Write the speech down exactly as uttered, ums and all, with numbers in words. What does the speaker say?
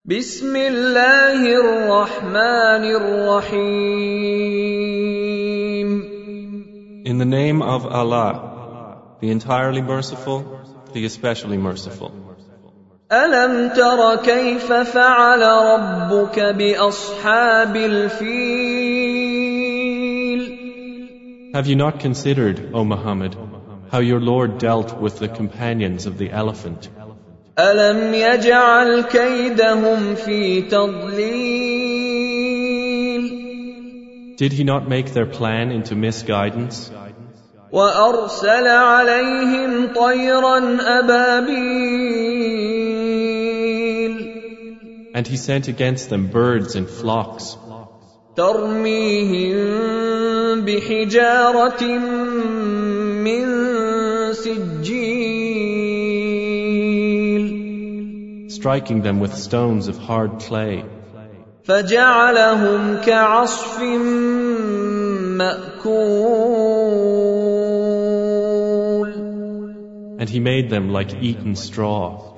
بسم الله الرحمن الرحيم. In the name of Allah, the entirely merciful, the especially merciful. ألم تر كيف فعل ربك بأصحاب الفيل؟ Have you not considered, O Muhammad, how your Lord dealt with the companions of the elephant? ألم يجعل كيدهم في تضليل؟ Did he not make their plan into misguidance? وأرسل عليهم طيرا أبابيل And he sent against them birds in flocks, ترميهم بحجارة من سجيل striking them with stones of hard clay, فجعلهم كعصف مأكول and he made them like eaten straw.